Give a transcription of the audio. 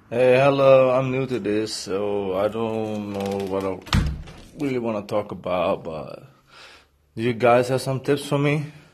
Hey, hello. I'm new to this, so I don't know what I really want to talk about, but do you guys have some tips for me?